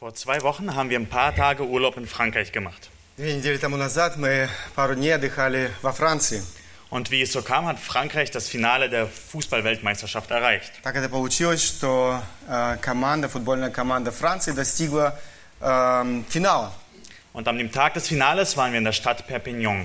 Vor 2 Wochen haben wir ein paar Tage Urlaub in Frankreich gemacht. 2 недели тому назад мы пару дней отдыхали во Франции. Und wie es so kam, hat Frankreich das Finale der Fußball-Weltmeisterschaft erreicht. Так это получилось, что футбольная команда Франции достигла финала. Und an dem Tag des Finales waren wir in der Stadt Perpignan.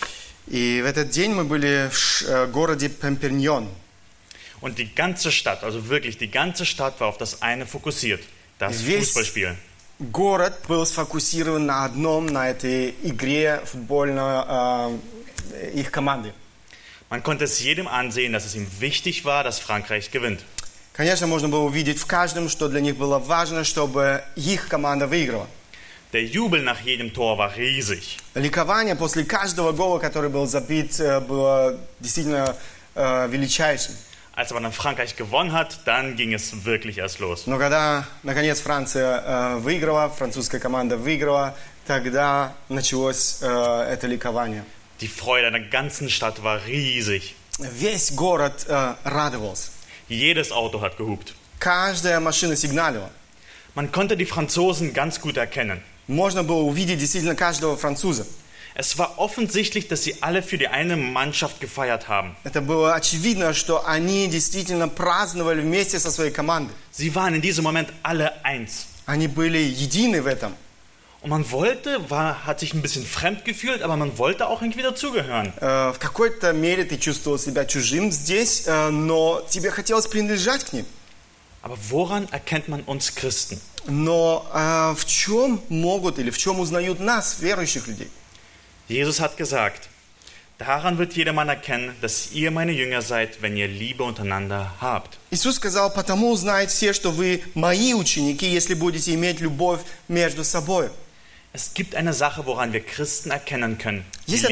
И в этот день мы были в городе Перпиньон. Und die ganze Stadt, also wirklich die ganze Stadt war auf das eine fokussiert, das Fußballspiel. Город был сфокусирован на одном, на этой игре футбольной их команды. Man konnte es jedem ansehen, dass es ihm wichtig war, dass Frankreich gewinnt. Конечно, можно было увидеть в каждом, что для них было важно, чтобы их команда выиграла. Der Jubel nach jedem Tor war riesig. Ликование после каждого гола, который был забит, было действительно величайшим. Als aber dann Frankreich gewonnen hat, dann ging es wirklich erst los. Но когда, наконец, Франция выиграла, французская команда выиграла, тогда началось это ликование. Die Freude der ganzen Stadt war riesig. Весь город радовался. Jedes Auto hat gehupt. Каждая машина сигналила. Man konnte die Franzosen ganz gut erkennen. Можно было увидеть действительно каждого француза. Es war offensichtlich, dass sie alle für die eine Mannschaft gefeiert haben. Это было очевидно, что они действительно праздновали вместе со своей командой. Sie waren in diesem Moment alle eins. Они были едины в этом. Und man hat sich ein bisschen fremd gefühlt, aber man wollte auch irgendwie dazugehören. В какой-то мере ты чувствовал себя чужим здесь, но тебе хотелось принадлежать к ним. Aber woran erkennt man uns Christen? Но в чем могут или в чем узнают нас, верующих людей? Jesus hat gesagt, daran wird jedermann erkennen, dass ihr meine Jünger seid, wenn ihr Liebe untereinander habt. Иисус сказал, потому узнают все, что вы мои ученики, если будете иметь любовь между собой. Es gibt eine Sache, woran wir Christen erkennen können. Есть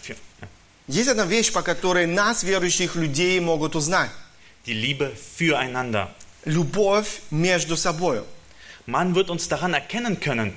одна вещь, по которой нас, верующих людей, могут узнать. Die Liebe füreinander. Любовь между собой. Man wird uns daran erkennen können.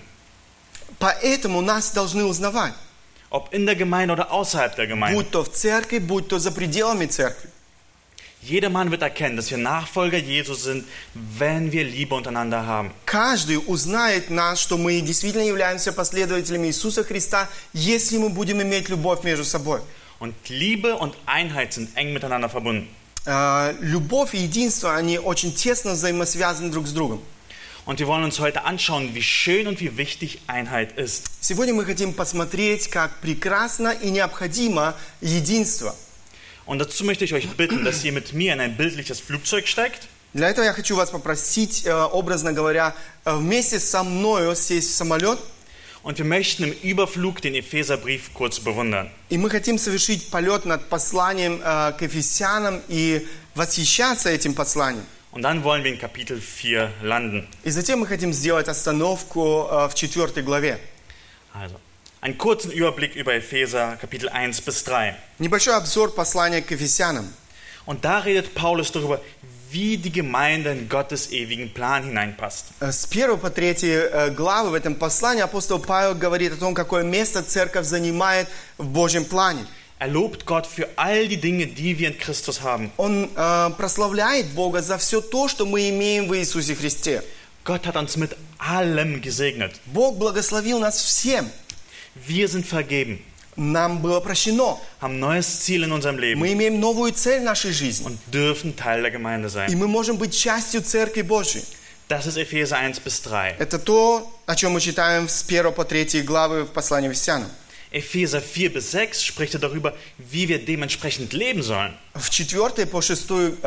Поэтому нас должны узнавать. Ob in der Gemeinde oder außerhalb der Gemeinde. Будь то в церкви, будь то за пределами церкви. Jedermann wird erkennen, dass wir Nachfolger Jesus sind, wenn wir Liebe untereinander haben. Каждый узнает нас, что мы действительно являемся последователями Иисуса Христа, если мы будем иметь любовь между собой. Und Liebe und Einheit sind eng miteinander verbunden. Любовь и единство, они очень тесно взаимосвязаны друг с другом. Und wir wollen uns heute anschauen, wie schön und wie wichtig Einheit ist. Сегодня мы хотим посмотреть, как прекрасно и необходимо единство. Und dazu möchte ich euch bitten, dass ihr mit mir in ein bildliches Flugzeug steigt. Для этого я хочу вас попросить, образно говоря, вместе со мною сесть в самолет. Und wir möchten im Überflug den Epheserbrief kurz bewundern. И мы хотим совершить полет над посланием к Ефесянам и восхищаться этим посланием. Und dann wollen wir in Kapitel 4 landen. И затем мы хотим сделать остановку в 4 главе. Also, einen kurzen Überblick über Epheser, Kapitel 1 bis 3. Небольшой обзор послания к Ефесянам. Und da redet Paulus darüber, wie die Gemeinde in Gottes ewigen Plan hineinpasst. С 1 по 3 главы в этом послании апостол Павел говорит о том, какое место церковь занимает в Божьем плане. Er lobt Gott für all die Dinge, die wir in Christus haben. Он прославляет Бога за все то, что мы имеем в Иисусе Христе. Gott hat uns mit allem gesegnet. Бог благословил нас всем. Wir sind vergeben. Нам было прощено. Haben neues Ziel in unserem Leben. Мы имеем новую цель в нашей жизни. Und dürfen Teil der Gemeinde И sein. мы можем быть частью Церкви Божьей. Das ist Epheser 1 bis 3. Это то, о чем мы читаем с 1 по 3 главы в послании Ефесянам. Epheser 4 bis 6 spricht darüber, wie wir dementsprechend leben sollen. В 4 по 6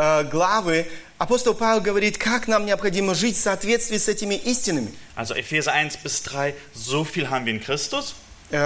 главы апостол Павел говорит, как нам необходимо жить в соответствии с этими истинами. Also Epheser 1 bis 3, so viel haben wir in Christus.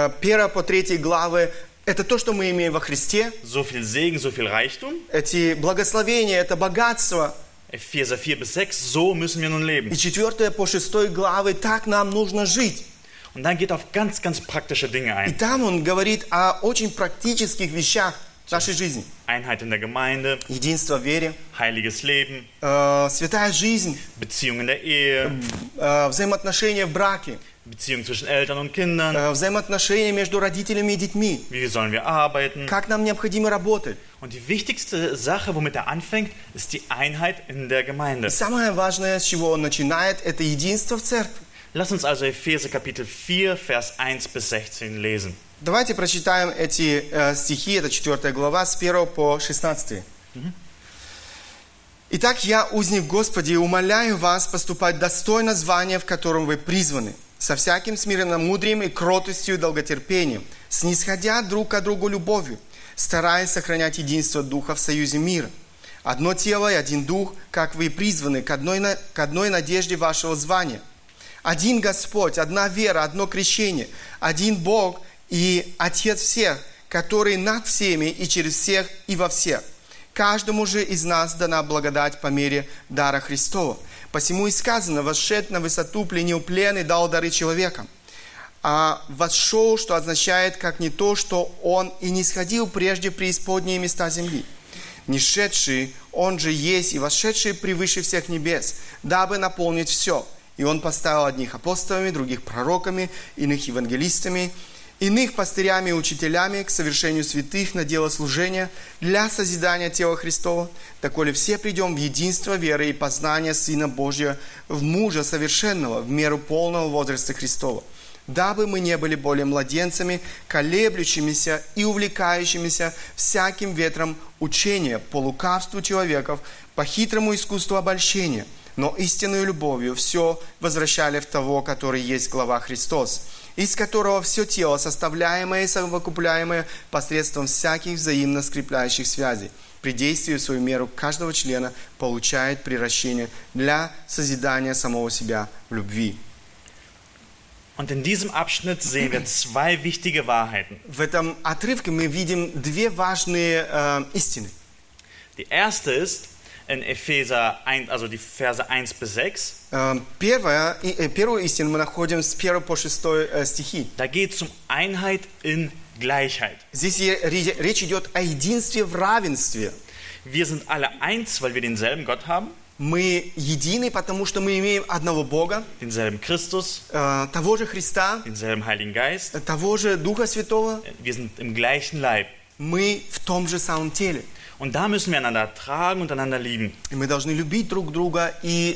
1 по 3 главы – это то, что мы имеем во Христе. So viel Segen, so viel Reichtum. Эти благословения, это богатство. Epheser 4 bis 6, so müssen wir nun leben. И 4 по 6 главы, так нам нужно жить. Und dann geht er auf ganz, ganz praktische Dinge И ein. там он говорит о очень практических вещах в нашей жизни. Einheit in der Gemeinde, Единство в вере, heiliges Leben, святая жизнь, Beziehung in der Ehe, взаимоотношения в браке, Beziehung zwischen Eltern und Kindern, взаимоотношения между родителями и детьми. wie sollen wir arbeiten. Как нам необходимо работать. Und die wichtigste Sache, womit er anfängt, ist die Einheit in der Gemeinde. И самое важное, с чего он начинает, это единство в церкви. Lass uns also Epheser Kapitel 4, Vers 1 bis 16 lesen. Давайте прочитаем эти стихи, это 4 глава, с 1 по 16. «Итак, я, узник Господи, умоляю вас поступать достойно звания, в котором вы призваны, со всяким смиренномудрием и кротостью и долготерпением, снисходя друг к другу любовью, стараясь сохранять единство Духа в союзе мира. Одно тело и один Дух, как вы и призваны, к одной надежде вашего звания. Один Господь, одна вера, одно крещение, один Бог и Отец всех, который над всеми и через всех и во всех. Каждому же из нас дана благодать по мере дара Христова. Посему и сказано, восшед на высоту, пленил плен и дал дары человекам. А восшел, что означает, как не то, что он и не сходил прежде в преисподние места земли. Нишедший, он же есть и восшедший превыше всех небес, дабы наполнить все. И он поставил одних апостолами, других пророками, иных евангелистами, иных пастырями и учителями к совершению святых на дело служения для созидания тела Христова, доколе все придем в единство веры и познания Сына Божия, в мужа совершенного, в меру полного возраста Христова, дабы мы не были более младенцами, колеблющимися и увлекающимися всяким ветром учения, по лукавству человеков, по хитрому искусству обольщения, но истинную любовью все возвращали в того, который есть глава Христос, из которого все тело, составляемое и совокупляемое посредством всяких взаимно скрепляющих связей, при действии в свою меру каждого члена получает приращение для созидания самого себя в любви. Und in diesem Abschnitt sehen wir zwei wichtige Wahrheiten. В этом отрывке мы видим две важные истины. Die erste ist in Epheser 1, also die Verse 1 bis 6. Первую истину мы находим с 1 по 6 стихи. Da geht es um Einheit in Gleichheit. Здесь речь идет о единстве в равенстве. Wir sind alle eins, weil wir denselben Gott haben, Мы едины, потому что мы имеем одного Бога, denselben Christus, того же Христа, denselben Heiligen Geist. того же Духа Святого. Wir sind im gleichen Leib. Мы в том же самом теле. Und da müssen wir einander tragen und einander lieben. И мы должны любить друг друга и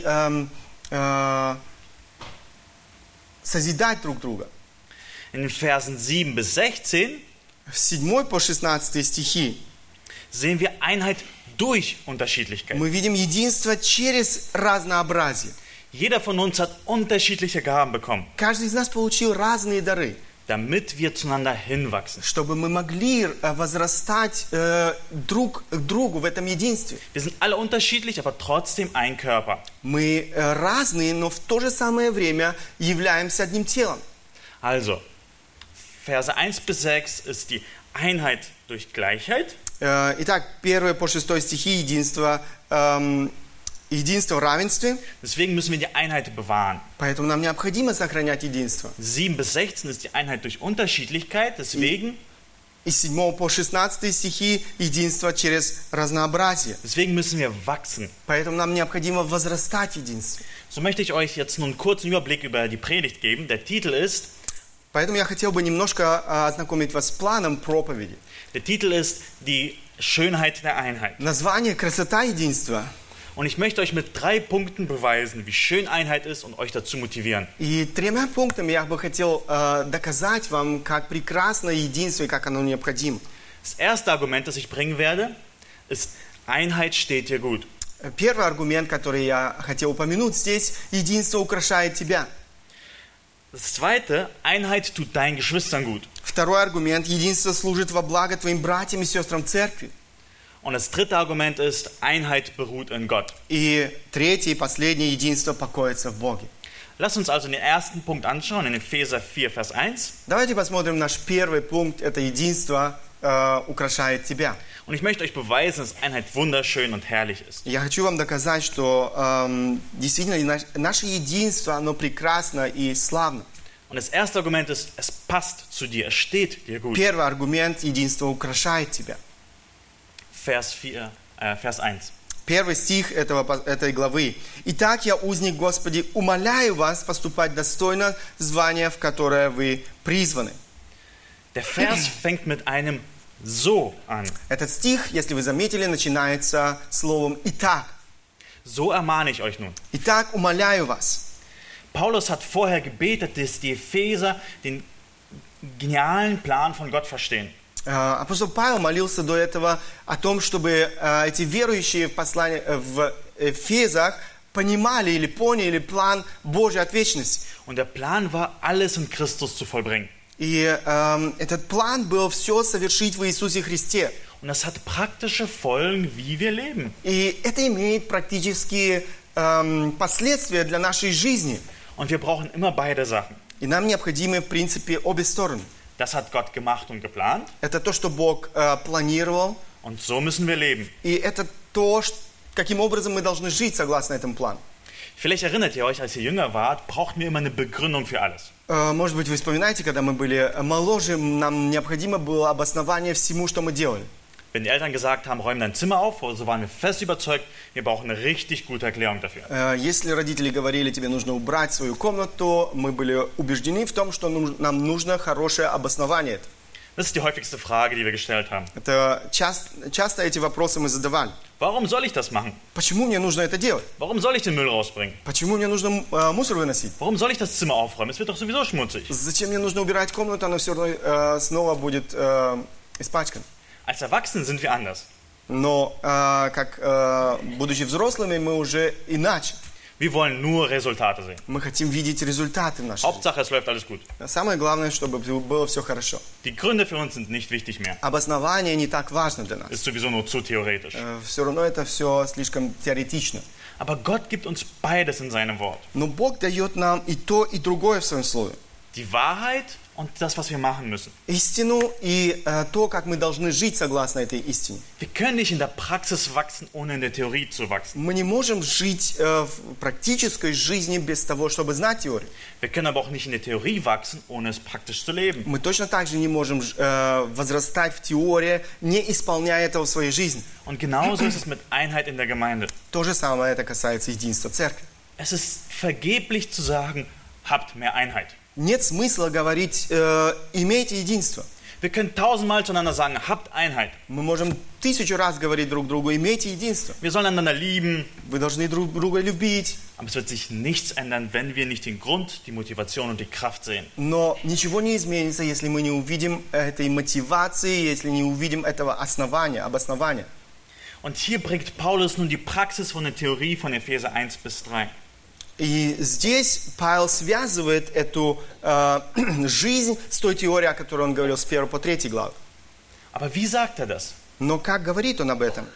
созидать друг друга. In den Versen 7 bis 16 В 7 по 16 стихи sehen wir Einheit durch Unterschiedlichkeit. мы видим единство через разнообразие. Jeder von uns hat unterschiedliche Gaben bekommen, Каждый из нас получил разные дары, damit wir zueinander hinwachsen. чтобы мы могли возрастать друг к другу в этом единстве. Wir sind alle unterschiedlich, aber trotzdem ein Körper. Мы разные, но в то же самое время являемся одним телом. Also, Verse 1 bis 6 ist die Einheit durch Gleichheit. Итак, 1 по 6 стихи единство в равенстве. Deswegen müssen wir die Einheit bewahren. Поэтому нам необходимо сохранять единство. 7 bis 16 ist die Einheit durch Unterschiedlichkeit. Deswegen Из 7 по 16 стихи единство через разнообразие. müssen wir wachsen. Поэтому нам необходимо возрастать в единстве. So möchte ich euch jetzt nun einen kurzen Überblick über die Predigt geben. Der Titel ist, Поэтому я хотел бы немножко ознакомить вас с планом проповеди. der Titel ist die Schönheit der Einheit. Название «Красота единства». Und ich möchte euch mit 3 Punkten beweisen, wie schön Einheit ist und euch dazu motivieren. И 3 пунктами я бы хотел доказать вам, как прекрасно единство и как оно необходимо. Das erste Argument, das ich bringen werde, ist, Einheit steht dir gut. Первый аргумент, который я хотел упомянуть здесь, единство украшает тебя. Das zweite, Einheit tut deinen Geschwistern gut. Второй аргумент, единство служит во благо твоим братьям и сестрам в церкви. Und das dritte Argument ist, Einheit beruht in Gott. И третье и последнее, единство покоится в Боге. Lass uns also den ersten Punkt anschauen, in Epheser 4, Vers 1. Давайте посмотрим наш первый пункт, это единство украшает тебя. Und ich möchte euch beweisen, dass Einheit wunderschön und herrlich ist. Я хочу вам доказать, что действительно наше единство, оно прекрасно и славно. Und das erste Argument ist, es passt zu dir, es steht dir gut. Первый аргумент, единство украшает тебя. Vers 1. Первый стих этой главы. «Итак, я, узник Господи, умоляю вас поступать достойно звания, в которое вы призваны». Der Vers fängt mit einem So an. Этот стих, если вы заметили, начинается словом «итак». So ermahne ich euch nun. «Итак, умоляю вас». Paulus hat vorher gebetet, dass die Epheser den genialen Plan von Gott verstehen. Апостол Павел молился до этого о том, чтобы эти верующие в Эфезах понимали или поняли план Божий от вечности. Und der Plan war, alles in Christus zu vollbringen. И этот план был все совершить в Иисусе Христе. Und das hat praktische Folgen, wie wir leben. И это имеет практические последствия для нашей жизни. Und wir brauchen immer beide Sachen. И нам необходимы, в принципе, обе стороны. Das hat Gott gemacht und geplant. Это то, что Бог планировал. Und so müssen wir leben. И это то, каким образом мы должны жить согласно этому плану. Vielleicht erinnert ihr euch, als ihr jünger wart, brauchten wir immer eine Begründung für alles. Может быть, вы вспоминаете, когда мы были моложе, нам необходимо было обоснование всему, что мы делали. Wenn die Eltern gesagt haben, räum dein Zimmer auf, so waren wir fest überzeugt, wir brauchen eine richtig gute Erklärung dafür. Если родители говорили, тебе нужно убрать свою комнату, мы были убеждены в том, что нам нужно хорошее обоснование. Das ist die häufigste Frage, die wir gestellt haben. Это часто эти вопросы мы задавали. Warum soll ich das machen? Почему мне нужно это делать? Warum soll ich den Müll rausbringen? Почему мне нужно мусор выносить? Warum soll ich das Zimmer aufräumen? Es wird doch sowieso schmutzig. Зачем мне нужно убирать комнату, она все равно снова будет испачкана. Als Erwachsene sind wir anders. Но, будучи взрослыми, мы уже иначе. Wir wollen nur Resultate sehen. Мы хотим видеть результаты в нашей жизни. Hauptsache, es läuft alles gut. Самое главное, чтобы было все хорошо. Die Gründe für uns sind nicht wichtig mehr. Обоснование не так важно для нас. Ist sowieso nur zu theoretisch. Все равно это все слишком теоретично. Aber Gott gibt uns beides in seinem Wort. Но Бог дает нам и то, и другое в своем слове. Die Wahrheit und das, was wir machen müssen. Истину и то, как мы должны жить согласно этой истине. Wir können nicht in der Praxis wachsen, ohne in der Theorie zu wachsen. Мы не можем жить в практической жизни без того, чтобы знать теорию. Wir können aber auch nicht in der Theorie wachsen, ohne es praktisch zu leben. Мы точно так же не можем возрастать в теории, не исполняя этого в своей жизни. Und genauso ist es mit Einheit in der Gemeinde. То же самое это касается единства церкви. Es ist vergeblich zu sagen, habt mehr Einheit. Нет смысла говорить, имейте единство. Wir können 1000-mal zueinander sagen, habt Einheit. Мы можем 1000 раз говорить друг другу, имейте единство. Wir sollen einander lieben. Вы должны друг друга любить. Aber es wird sich nichts ändern, wenn wir nicht den Grund, die Motivation und die Kraft sehen. Но ничего не изменится, если мы не увидим этой мотивации, если не увидим этого обоснования. Und hier bringt Paulus nun die Praxis von der Theorie von Epheser 1 bis 3. И здесь Павел связывает эту жизнь с той теорией, о которой он говорил с 1 по 3 главы. Aber wie sagt er das? Но как говорит он об этом?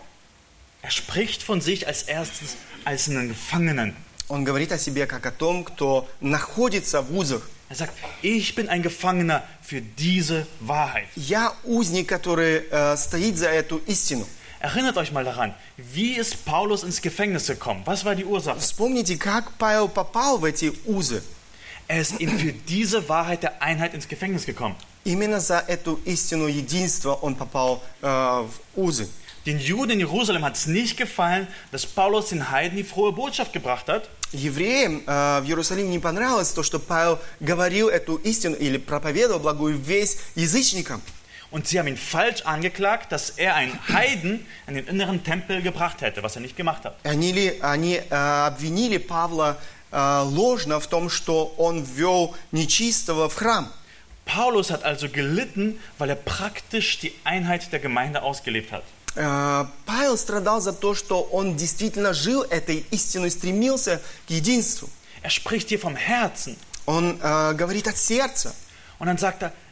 Er spricht von sich als erstes als einen Gefangenen. Он говорит о себе как о том, кто находится в узах. Er sagt, ich bin ein Gefangener für diese Wahrheit. Я узник, который стоит за эту истину. Erinnert euch mal daran, wie ist Paulus ins Gefängnis gekommen? Was war die Ursache? Вспомните, как Павел попал в эти узы. Er ist eben für diese Wahrheit der Einheit ins Gefängnis gekommen. Именно за эту истину единства он попал в узы. Den Juden in Jerusalem hat es nicht gefallen, dass Paulus den Heiden die frohe Botschaft gebracht hat. Евреям в Иерусалиме не понравилось то, что Павел говорил эту истину или проповедовал благую весть язычникам. Und sie haben ihn falsch angeklagt, dass er einen Heiden in den inneren Tempel gebracht hätte, was er nicht gemacht hat. Они обвинили Павла ложно в том, что он ввел нечистого в храм. Paulus hat also gelitten, weil er praktisch die Einheit der Gemeinde ausgelebt hat. Павел страдал за то, что он действительно жил этой истиной, стремился к единству. Er spricht hier vom Herzen. Он говорит от сердца. Und dann sagt er,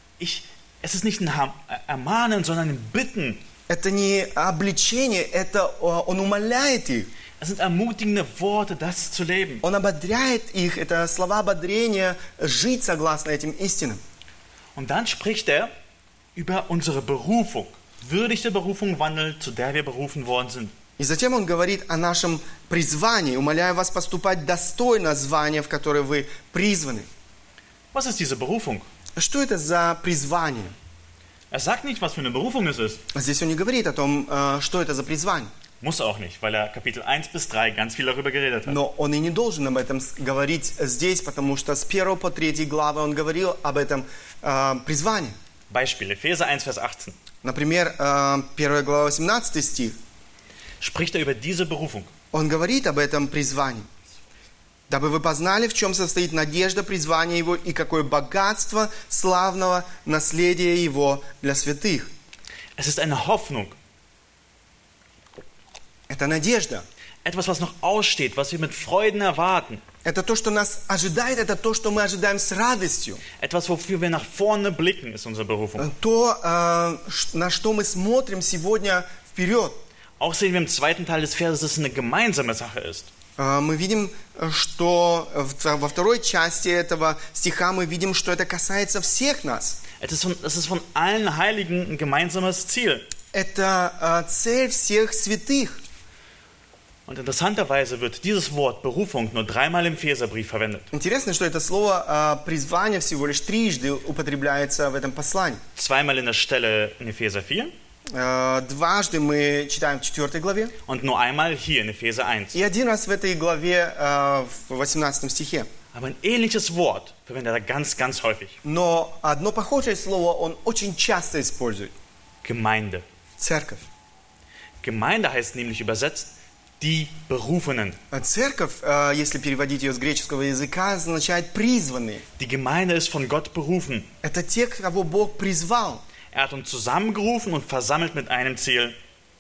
es ist nicht ein Ermahnen, sondern ein Bitten. Это не обличение, это он умоляет их. Es sind ermutigende Worte, das zu leben. Он ободряет их, это слова ободрения, жить согласно этим истинам. Und dann spricht er über unsere Berufung. Würdig der Berufung wandeln, zu der wir berufen worden sind. И затем он говорит о нашем призвании. Умоляю вас поступать достойно звания, в которое вы призваны. Was ist diese Berufung? Что это за призвание? Er sagt nicht, was für eine Berufung es ist. Здесь он не говорит о том, что это за призвание. Muss er auch nicht, weil er Kapitel 1 bis 3 ganz viel darüber geredet hat. Но он и не должен об этом говорить здесь, потому что с 1 по 3 главы он говорил об этом призвании. Beispiel, Epheser 1, Vers 18. Например, 1 глава 18 стих. Spricht er über diese Berufung. Он говорит об этом призвании. Дабы вы познали, в чем состоит надежда призвания Его и какое богатство славного наследия Его для святых. Es ist eine Hoffnung, Это надежда. etwas, was noch aussteht, was wir mit Freuden erwarten. Это то, что нас ожидает, это то, что мы ожидаем с радостью. Etwas, wofür wir nach vorne blicken, ist unsere Berufung. То, на что мы смотрим сегодня вперед. Auch sehen wir im zweiten Teil des Verses, dass es eine gemeinsame Sache ist. Мы видим, что во второй части этого стиха мы видим, что это касается всех нас. Es ist von allen Heiligen ein gemeinsames Ziel. Это цель всех святых. Und interessanterweise wird dieses Wort Berufung nur 3-mal im Epheserbrief verwendet. Интересно, что это слово призвание всего лишь трижды употребляется в этом послании. 2-mal in der Stelle in Epheser 4 Дважды мы читаем в 4 главе. und nur einmal hier in Epheser 1. И один раз в этой главе, в 18 стихе. Aber ein ähnliches Wort verwendet er ganz, ganz häufig. Но одно похожее слово он очень часто использует. Gemeinde. Церковь. Gemeinde heißt nämlich übersetzt die Berufenen. Церковь, если переводить ее с греческого языка, означает призванные. Die Gemeinde ist von Gott berufen. Это те, кого Бог призвал. Er hat uns zusammengerufen und versammelt mit einem Ziel.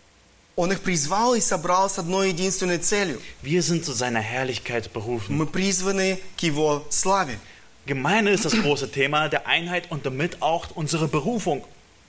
Он их призвал и собрал с одной единственной целью. Wir sind zu seiner Herrlichkeit berufen. Мы призваны к Его славе. Gemeinde ist das große Thema der Einheit und damit auch unsere Berufung.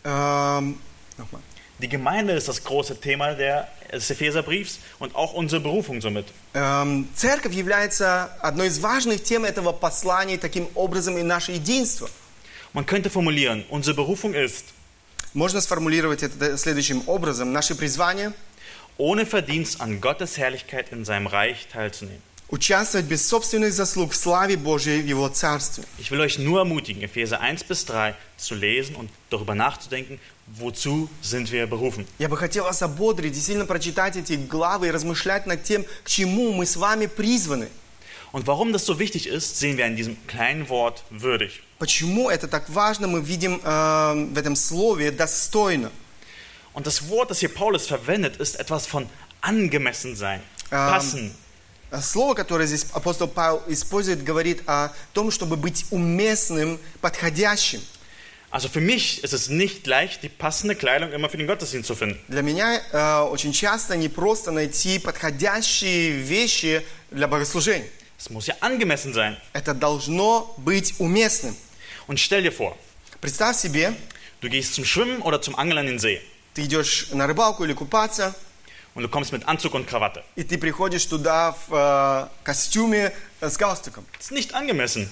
Nochmal. Die Gemeinde ist das große Thema des Epheserbriefs und auch unsere Berufung somit. Церковь является одной из важных тем этого послания, таким образом и наше единство. Man könnte formulieren, unsere Berufung ist, Можно сформулировать это следующим образом. Наше призвание ohne Verdienst an Gottes Herrlichkeit in seinem Reich teilzunehmen. – участвовать без собственных заслуг в славе Божией в Его Царстве. Ich will euch nur ermutigen, Epheser 1-3 zu lesen und darüber nachzudenken, wozu sind wir berufen. Я бы хотел вас ободрить и сильно прочитать эти главы и размышлять над тем, к чему мы с вами призваны. Und warum das so wichtig ist, sehen wir in diesem kleinen Wort würdig. Почему это так важно, мы видим в этом слове «достойно». Und das Wort, das hier Paulus verwendet, ist etwas von angemessen sein, passen. Слово, которое здесь апостол Павел использует, говорит о том, чтобы быть уместным, подходящим. Also für mich ist es nicht leicht, die passende Kleidung immer für den Gottesdienst zu finden. Для меня очень часто не просто найти подходящие вещи для богослужения. Es muss ja angemessen sein. Это должно быть уместным. Und stell dir vor, Представь себе, du gehst zum Schwimmen oder zum Angeln an den See ты идешь на рыбалку или купаться, und du kommst mit Anzug und Krawatte. и ты приходишь туда в костюме с галстуком. Das ist nicht angemessen.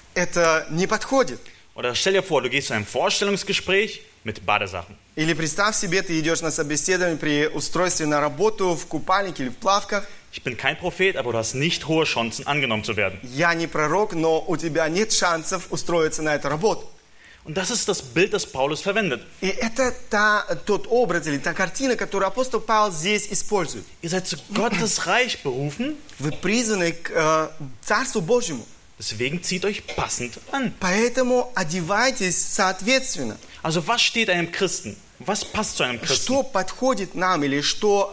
Это не подходит. Oder stell dir vor, du gehst zu einem Vorstellungsgespräch mit Badesachen. Или представь себе, ты идешь на собеседование при устройстве на работу в купальнике или в плавках. Ich bin kein Prophet, aber du hast nicht hohe Chancen, angenommen zu werden. Я не пророк, но у тебя нет шансов устроиться на эту работу. Und das ist das Bild, das Paulus verwendet. И это тот образ или та картина, которую апостол Павел здесь использует. Ihr seid zu Gottes Reich berufen, Вы призваны к Царству Божьему. deswegen zieht euch passend an. Поэтому одевайтесь соответственно. Also was steht einem Christen? Was passt zu einem Christen? Что подходит нам или что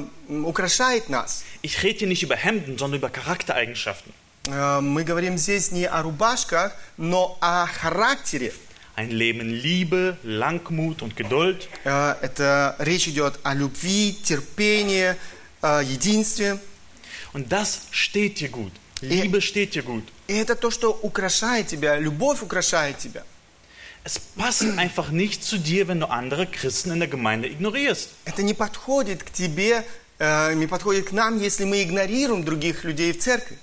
украшает нас? Ich rede hier nicht über Hemden, sondern über Charaktereigenschaften. Мы говорим здесь не о рубашках, но о характере. Ein Leben in Liebe, Langmut und Geduld. Это речь идет о любви, терпении, единстве. Und das steht dir gut. Liebe steht dir gut. И это то, что украшает тебя, любовь украшает тебя. Es passt einfach nicht zu dir, wenn du andere Christen in der Gemeinde ignorierst. Это не подходит к тебе, не подходит к нам, если мы игнорируем других людей в церкви.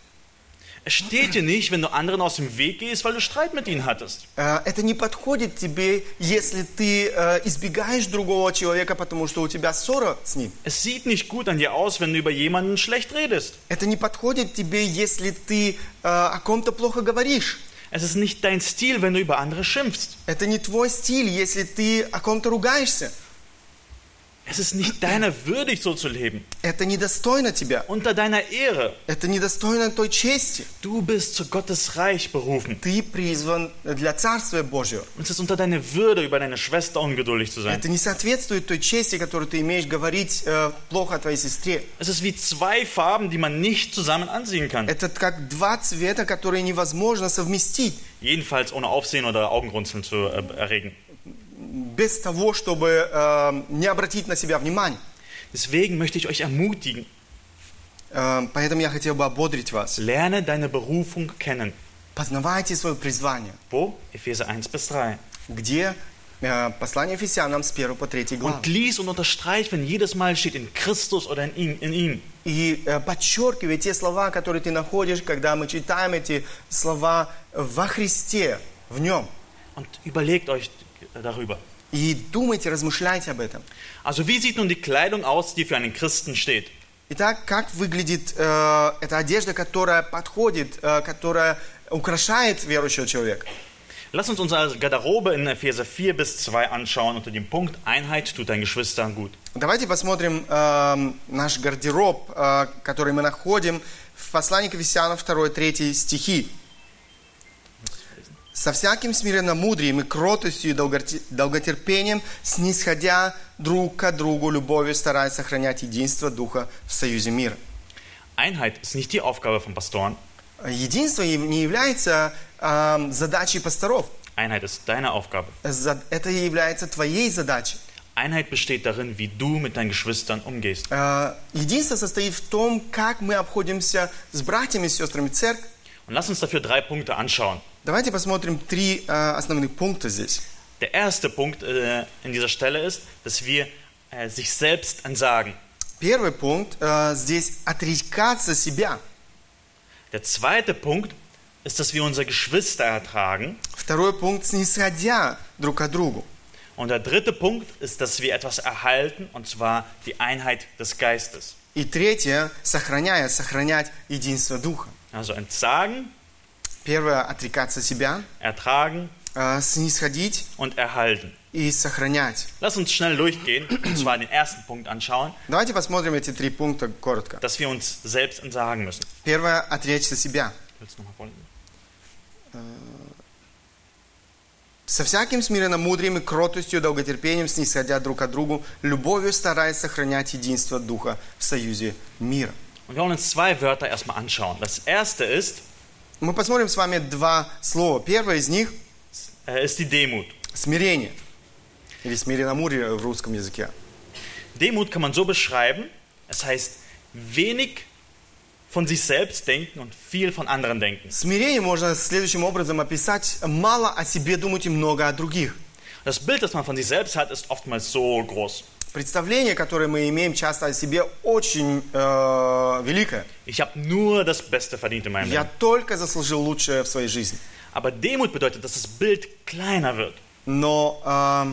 Es steht dir nicht, wenn du anderen aus dem Weg gehst, weil du Streit mit ihnen hattest. Это не подходит тебе, если ты избегаешь другого человека, потому что у тебя ссора с ним. Es sieht nicht gut an dir aus, wenn du über jemanden schlecht redest. Это не подходит тебе, если ты о ком-то плохо говоришь. Es ist nicht dein Stil, wenn du über andere schimpfst. Это не твой стиль, если ты о ком-то ругаешься. Es ist nicht deiner würdig, so zu leben. Это недостойно тебя. Unter deiner Ehre. Это недостойно той чести. Du bist zu Gottes Reich berufen. Ты призван для Царствия Божьего. Und es ist unter deiner Würde, über deine Schwester ungeduldig zu sein. Это не соответствует той чести, которую ты имеешь говорить плохо о твоей сестре. Es ist wie zwei Farben, die man nicht zusammen anziehen kann. Это как два цвета, которые невозможно совместить. Jedenfalls ohne Aufsehen oder Augenrunzeln zu erregen. Без того, чтобы не обратить на себя внимание. Deswegen möchte ich euch ermutigen. Поэтому я хотел бы ободрить вас. Lerne deine Berufung kennen. Познавайте свое призвание. Wo? Epheser 1-3. Где? Послание Ефесянам с 1 по 3 глав. Und lies und unterstreich, wenn jedes Mal steht in Christus oder in ihm. И подчеркивай те слова, которые ты находишь, когда мы читаем эти слова во Христе, в Нем. Und überlegt euch darüber. И думайте, размышляйте об этом. Also wie sieht nun die Kleidung aus, die für einen Christen steht? Итак, как выглядит эта одежда, которая подходит, которая украшает верующего человека? Lass uns unsere Garderobe in Epheser 4-2 anschauen unter dem Punkt Einheit tut deinen Geschwistern gut. Давайте посмотрим наш гардероб, который мы находим в послании к Ефесянам 2-3 стихи. «Со всяким смиренномудрием и кротостью и долготерпением, снисходя друг к другу любовью, стараясь сохранять единство Духа в союзе мира». Einheit ist nicht die Aufgabe von Pastoren. Единство не является задачей пасторов. Einheit ist deine Aufgabe. Это является твоей задачей. Einheit besteht darin, wie du mit deinen Geschwistern umgehst. Единство состоит в том, как мы обходимся с братьями и сестрами в церкви. Und lass uns dafür 3 Punkte anschauen. Давайте посмотрим 3 основных пункта здесь. Der erste Punkt in dieser Stelle ist, dass wir sich selbst entsagen. Первый пунkt здесь отрекаться себя. Der zweite Punkt ist, dass wir unsere Geschwister ertragen. Второй пункт снисходя друг к другу. Und der dritte Punkt ist, dass wir etwas erhalten, und zwar die Einheit des Geistes. И третье, сохранять единство Духа. Also entsagen, Первое, отрекаться себя, ertragen снисходить und erhalten. и сохранять. Lass uns schnell durchgehen, und zwar den ersten Punkt anschauen, Давайте посмотрим эти 3 пункта коротко. dass wir uns selbst entsagen müssen. Первое, отречься себя. Willst du noch mal vorlesen? Со всяким смиренномудрием и кротостью, долготерпением, снисходя друг к другу, любовью стараясь сохранять единство Духа в союзе мира. Und wir wollen uns 2 Wörter erstmal anschauen. Das erste ist Мы посмотрим с вами 2 слова. Первое из них die Demut. смирение. Или смиренномудрие в русском языке. Demut kann man so beschreiben, es heißt wenig von sich selbst denken und viel von anderen denken. Смирение можно следующим образом описать: мало о себе думать и много о других. Das Bild, das man von sich selbst hat, ist oftmals so groß. Представление, которое мы имеем часто о себе, очень великое. Ich habe nur das Beste verdient in meinem Я Leben. только заслужил лучшее в своей жизни. Aber Demut bedeutet, dass das Bild kleiner wird. Но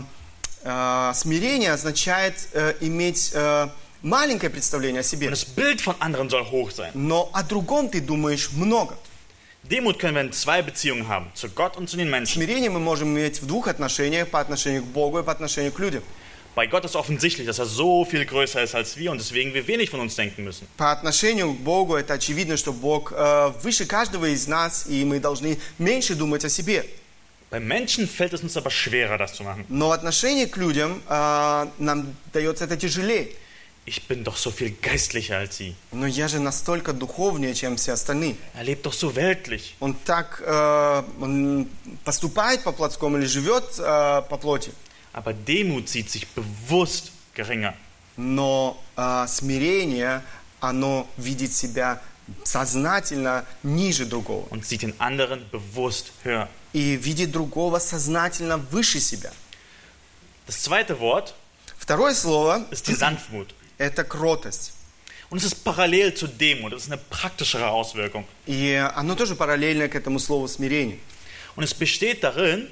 смирение означает иметь маленькое представление о себе. Und das Bild von anderen soll hoch sein. Но о другом ты думаешь много. Demut können wir in 2 Beziehungen haben, zu Gott und zu den Menschen. Смирение мы можем иметь в 2 отношениях: по отношению к Богу и по отношению к людям. Bei Gott ist offensichtlich, dass er so viel größer ist als wir und deswegen wir wenig von uns denken müssen. По отношению к Богу это очевидно, что Бог выше каждого из нас, и мы должны меньше думать о себе. Bei Menschen fällt es uns aber schwerer, das zu machen. Но в отношении к людям нам дается это тяжелее. Ich bin doch so viel geistlicher als sie. Но я же настолько духовнее, чем все остальные. Er lebt doch so weltlich. Он так он поступает по-плотскому или живет по плоти. Aber Demut sieht sich bewusst geringer. Но смирение, оно видит себя сознательно ниже другого. Und sieht den anderen bewusst höher. И видит другого сознательно выше себя. Das zweite Wort Второе слово ist die Sanftmut. – это кротость. Und es ist parallel zu Demut. Das ist eine praktischere Auswirkung. И оно тоже параллельно к этому слову смирение. Und es besteht darin,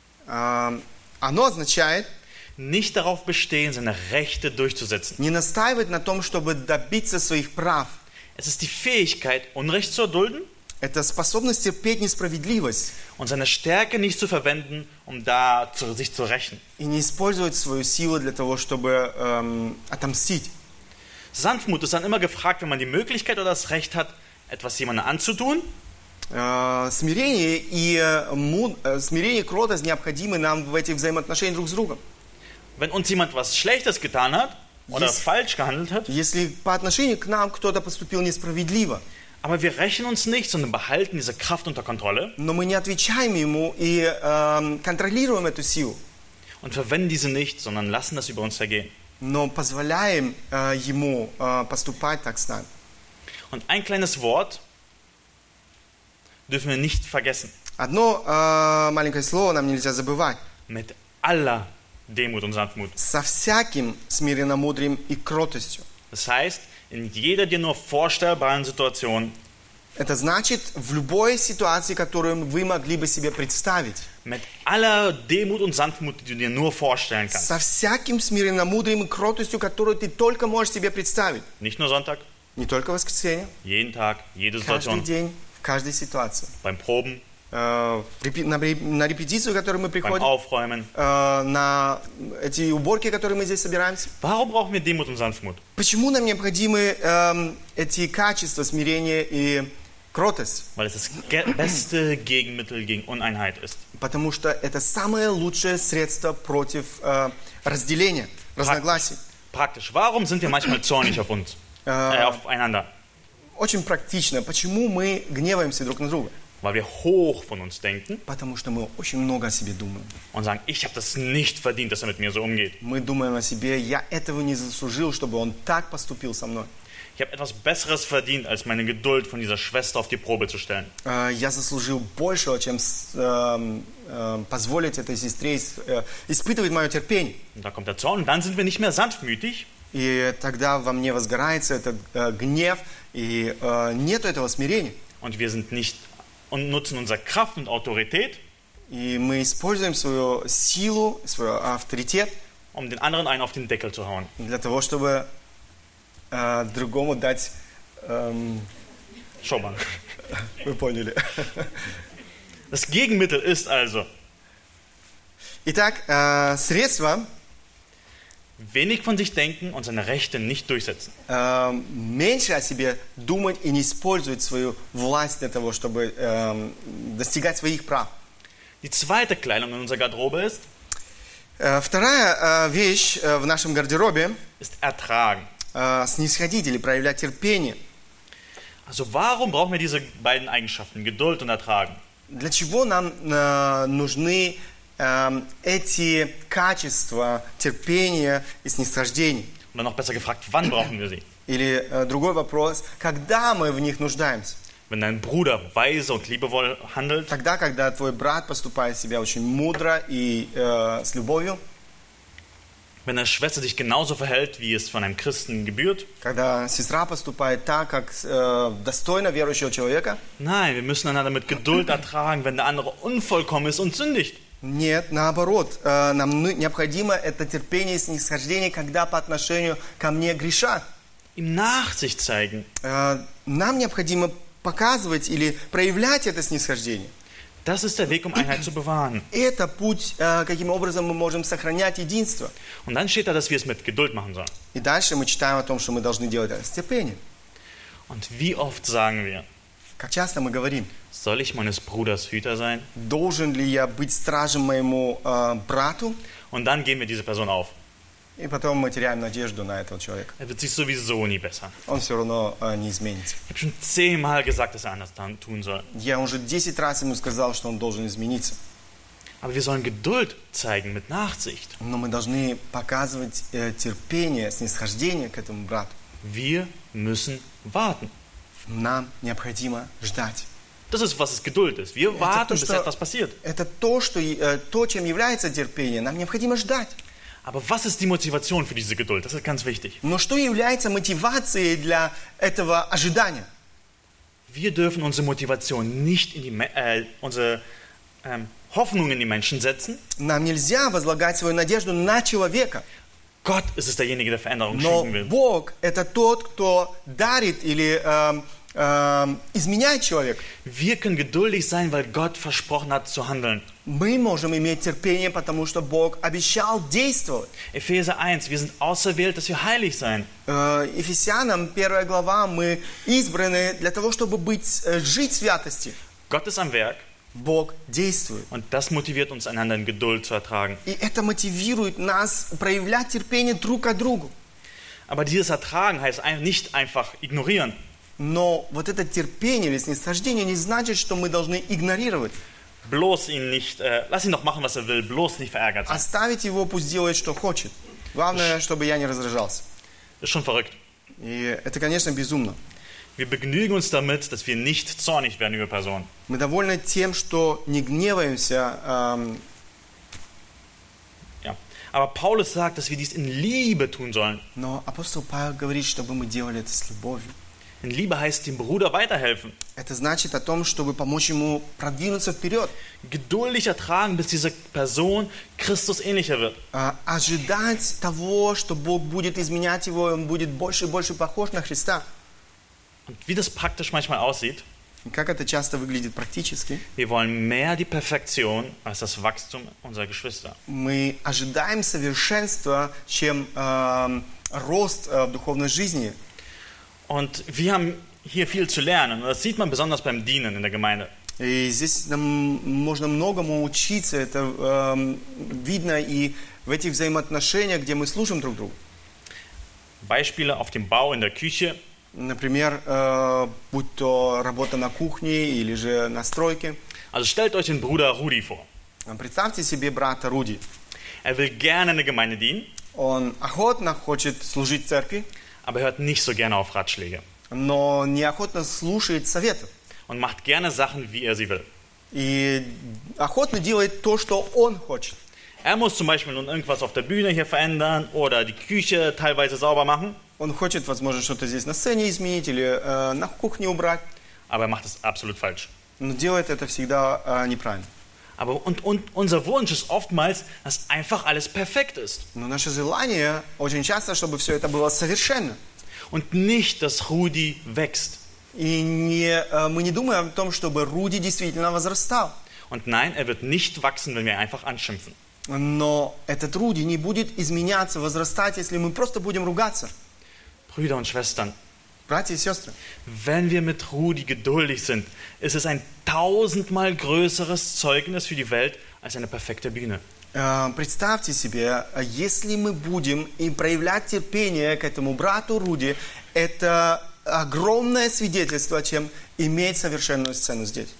Оно означает nicht darauf bestehen, seine Rechte durchzusetzen. не настаивать на том, чтобы добиться своих прав. Es ist die Fähigkeit, Unrecht zu erdulden. Это способность терпеть несправедливость und seine Stärke nicht zu verwenden, um sich zu rächen. и не использовать свою силу для того, чтобы отомстить. Sanftmut ist dann immer gefragt, wenn man die Möglichkeit oder das Recht hat, etwas jemandem anzutun. Смирение и кротость необходимы нам в этих взаимоотношениях друг с другом. Wenn uns jemand was Schlechtes getan hat oder falsch gehandelt hat, Если по отношению к нам кто-то поступил несправедливо, aber wir rächen uns nicht, sondern behalten diese Kraft unter Kontrolle но мы не отвечаем ему и контролируем эту силу, und verwenden diese nicht, sondern lassen das über uns ergehen. но позволяем ему поступать так с нами. Und ein kleines Wort dürfen wir nicht vergessen. Одно маленькое слово нам нельзя забывать. Mit aller Demut und Sanftmut. Со всяким смиренномудрием и кротостью. Das heißt, in jeder dir nur vorstellbaren Situation Это значит, в любой ситуации, которую вы могли бы себе представить, mit aller Demut und Sanftmut, die du dir nur vorstellen kannst. со всяким смиренномудрием и кротостью, которую ты только можешь себе представить. Nicht nur Sonntag, Не только в воскресенье, jeden Tag, jede каждый Situation, день, в каждой ситуации. beim Proben, На репетицию, в которую мы beim приходим, Aufräumen. на эти уборки, которые мы здесь собираемся. Warum brauchen wir Demut und Sanftmut? Почему нам необходимы эти качества, смирение и кротость? Weil es das beste Gegenmittel gegen Uneinheit ist. Потому что это самое лучшее средство против разделения, разногласий. Praktisch. Warum sind wir manchmal zornig auf uns? Aufeinander? Очень практично. Почему мы гневаемся друг на друга? Weil wir hoch von uns denken Потому что мы очень много о себе думаем. und sagen, ich habe das nicht verdient, dass er mit mir so umgeht. Мы думаем о себе, я этого не заслужил, чтобы он так поступил со мной. Ich habe etwas Besseres verdient, als meine Geduld von dieser Schwester auf die Probe zu stellen. Я заслужил большего, чем позволить этой сестре испытывать мое терпение. Und da kommt der Zorn und dann sind wir nicht mehr sanftmütig, И тогда во мне возгорается этот гнев, и нету этого смирения. und wir sind nicht und nutzen unsere Kraft und Autorität, И мы используем свою силу, свой авторитет um den anderen einen auf den Deckel zu hauen. для того, чтобы другому дать... Schau mal. Вы поняли. Das Gegenmittel ist also Итак, средство wenig von sich denken und seine Rechte nicht durchsetzen. меньше о себе думать и не использовать свою власть для того, чтобы достигать своих прав. Die zweite Kleidung in unserer Garderobe ist Вторая вещь в нашем гардеробе ist ertragen. снисходить или проявлять терпение. Also warum brauchen wir diese beiden Eigenschaften, Geduld und Ertragen? Для чего нам нужны эти качества терпения и снисхождения? Oder noch besser gefragt, wann brauchen wir sie? Или другой вопрос, когда мы в них нуждаемся? Wenn dein Bruder weise und liebevoll handelt, Тогда, когда твой брат поступает себя очень мудро и с любовью, wenn deine Schwester sich genauso verhält, wie es von einem Christen gebührt. когда сестра поступает так, как достойно верующего человека. Nein, wir müssen einander mit Geduld ertragen, wenn der andere unvollkommen ist und sündigt. Нет, наоборот, нам необходимо это терпение и снисхождение, когда по отношению ко мне грешат. Ihm Nachsicht zeigen. Нам необходимо показывать или проявлять это снисхождение. Das ist der Weg, um Einheit zu bewahren. Это путь, каким образом мы можем сохранять единство. Und dann steht da, dass wir es mit Geduld machen sollen. И дальше мы читаем о том, что мы должны делать это с терпением. Und wie oft sagen wir, Как часто мы говорим, soll ich meines Bruders Hüter sein? должен ли я быть стражем моему брату? Und dann geben wir diese Person auf. И потом мы теряем надежду на этого человека. Er wird sich sowieso nie bessern. Он все равно не изменится. Ich habe schon 10-mal gesagt, dass er anders tun soll. Я уже 10 раз ему сказал, что он должен измениться. Aber wir sollen Geduld zeigen mit Nachsicht. Но мы должны показывать терпение, снисхождение к этому брату. Wir müssen warten. Нам необходимо ждать. Das ist, was es Geduld ist. Wir warten, bis etwas passiert. Это то, чем является терпение. Нам необходимо ждать. Aber was ist die Motivation für diese Geduld? Das ist ganz wichtig. Но что является мотивацией для этого ожидания? Wir dürfen unsere Motivation nicht in unsere Hoffnung in die Menschen setzen. Нам нельзя возлагать свою надежду на человека. Gott ist es derjenige, der Veränderung Но schenken will. Бог – это тот, кто дарит или изменяет человека. Wir können geduldig sein, weil Gott versprochen hat zu handeln. Мы можем иметь терпение, потому что Бог обещал действовать. Epheser 1, wir sind auserwählt, dass wir heilig sein. Ефесянам 1 глава, мы избраны для того, чтобы жить в святости. Gott ist am Werk Бог действует. und das motiviert uns, einander in Geduld zu ertragen. И это мотивирует нас проявлять терпение друг к другу. Aber dieses Ertragen heißt nicht einfach ignorieren. Но вот это терпение или снисхождение не значит, что мы должны игнорировать. Bloß ihn nicht, lass ihn doch machen, was er will, bloß nicht verärgert sein. Оставить его, пусть делает, что хочет. Главное, чтобы я не раздражался. Ist schon verrückt. И это, конечно, безумно. Wir begnügen uns damit, dass wir nicht zornig werden über Personen. Мы довольны тем, что не гневаемся. Ja. Aber Paulus sagt, dass wir dies in Liebe tun sollen. Но апостол Павел говорит, чтобы мы делали это с любовью. In Liebe heißt dem Bruder weiterhelfen. Это значит о том, чтобы помочь ему продвинуться вперед. Geduldig ertragen, bis diese Person Christus ähnlicher wird. Ожидать того, что Бог будет изменять его, и он будет больше и больше похож на Христа. Und wie das praktisch manchmal aussieht, И как это часто выглядит практически. wir wollen mehr die Perfektion als das Wachstum unserer Geschwister. Мы ожидаем совершенства, чем рост в духовной жизни. Und wir haben hier viel zu lernen. Und das sieht man besonders beim Dienen in der Gemeinde. И здесь нам можно многому учиться. Это видно и в этих взаимоотношениях, где мы служим друг другу. Beispiele auf dem Bau, in der Küche. Например, будь то работа на кухне или же на стройке. Also stellt euch den Bruder Rudi vor. Представьте себе брата Руди. Will gerne in der Gemeinde dienen, Он охотно хочет служить в церкви, aber hört nicht so gerne auf Ratschläge. но неохотно слушает советов. Und macht gerne Sachen, wie er sie will. И охотно делает то, что он хочет. Muss zum Beispiel nun irgendwas auf der Bühne hier verändern oder die Küche teilweise sauber machen. Он хочет, возможно, что-то здесь на сцене изменить или на кухне убрать. Aber macht es absolut falsch. Но делает это всегда неправильно. Aber und unser Wunsch ist oftmals, dass einfach alles perfekt ist. Но наше желание очень часто, чтобы все это было совершенно. Und nicht, dass Rudi wächst. И мы не думаем о том, чтобы Руди действительно возрастал. Und nein, er wird nicht wachsen, wenn wir einfach anschimpfen. Но этот Руди не будет изменяться, возрастать, если мы просто будем ругаться. Brüder und Schwestern, Братья и сестры, wenn wir mit Rudi geduldig sind, ist es ein 1000-mal größeres Zeugnis für die Welt als eine perfekte Bühne. Представьте себе, если мы будем и проявлять терпение к этому брату Руди, это огромное свидетельство, чем иметь совершенную сцену здесь.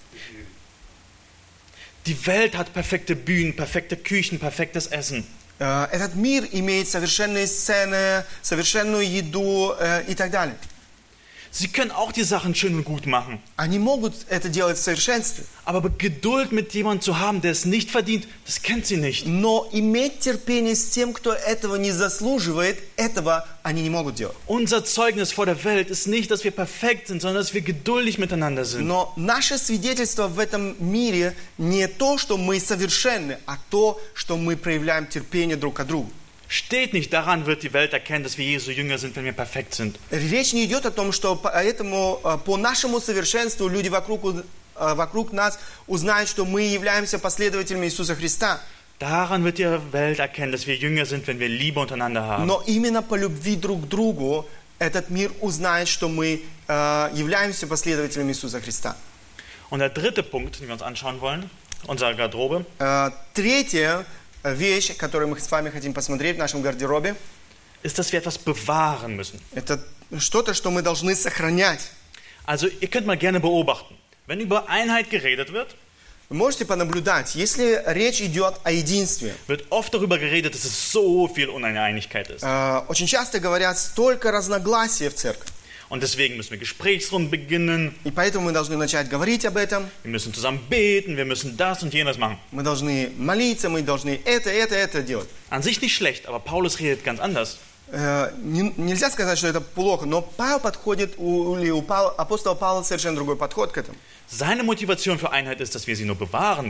Die Welt hat perfekte Bühnen, perfekte Küchen, perfektes Essen. Этот мир имеет совершенные сцены, совершенную еду и так далее. Sie können auch die Sachen schön und gut machen. Они могут это делать в совершенстве. Aber Geduld mit jemandem zu haben, der es nicht verdient, das kennt sie nicht. Но иметь терпение с тем, кто этого не заслуживает, этого они не могут делать. Unser Zeugnis vor der Welt ist nicht, dass wir perfekt sind, sondern dass wir geduldig miteinander sind. Но наше свидетельство в этом мире не то, что мы совершенны, а то, что мы проявляем терпение друг к другу. Steht nicht daran, wird die Welt erkennen, dass wir Jesu Jünger sind, wenn wir perfekt sind. Речь не идет о том, что поэтому по нашему совершенству люди вокруг нас узнают, что мы являемся последователями Иисуса Христа. Daran wird die Welt erkennen, dass wir Jünger sind, wenn wir Liebe untereinander haben. Но именно по любви друг к другу этот мир узнает, что мы являемся последователями Иисуса Христа. Und der dritte Punkt, den wir uns anschauen wollen, unsere Garderobe. Третья вещь, которую мы с вами хотим посмотреть в нашем гардеробе, ist, dass wir etwas bewahren müssen. Это что-то, что мы должны сохранять. Also ihr könnt mal gerne beobachten, wenn über Einheit geredet wird, Вы можете понаблюдать, если речь идет о единстве. wird oft darüber geredet, dass es so viel Uneinigkeit ist. Очень часто говорят, столько разногласий в церкви. Und deswegen müssen wir Gesprächsrunden beginnen. И поэтому мы должны начать говорить об этом. Wir müssen zusammen beten, wir müssen das und jenes machen. Мы должны молиться, мы должны это делать. An sich nicht schlecht, aber Paulus redet ganz anders. Нельзя сказать, что это плохо, но Павел подходит, апостола Павла совершенно другой подход к этому. Seine Motivation für Einheit ist, dass wir sie nur bewahren müssen.